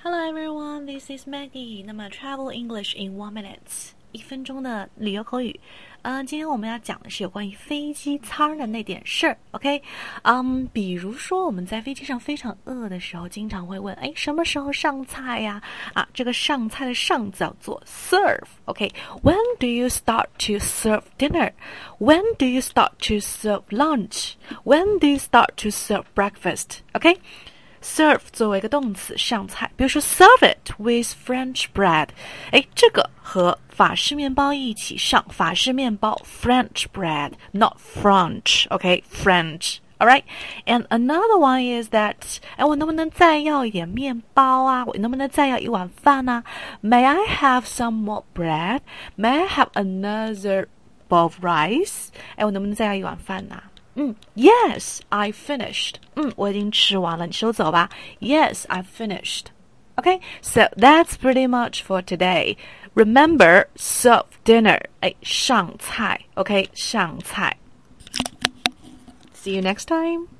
Hello everyone, this is Maggie. 那么 Travel English in 1 minute， 1分钟的旅游口语。今天我们要讲的是有关于飞机餐的那点事儿 ，OK？ 比如说我们在飞机上非常饿的时候，经常会问，什么时候上菜呀？这个上菜的上字叫做 serve，OK？When do you start to serve dinner? When do you start to serve lunch? When do you start to serve breakfast? OK？Serve 作为一个动词上菜，比如说 serve it with French bread， 这个和法式面包一起上，法式面包 French bread not French， OK French alright and another one is that 我能不能再要一点面包啊，我能不能再要一碗饭啊？ May I have some more bread? May I have another bowl of rice？ 我能不能再要一碗饭啊？Yes, I finished. 我已经吃完了，你收走吧。Yes, I finished. Okay, so that's pretty much for today. Remember, serve dinner. 上菜 ，OK， 上菜。See you next time.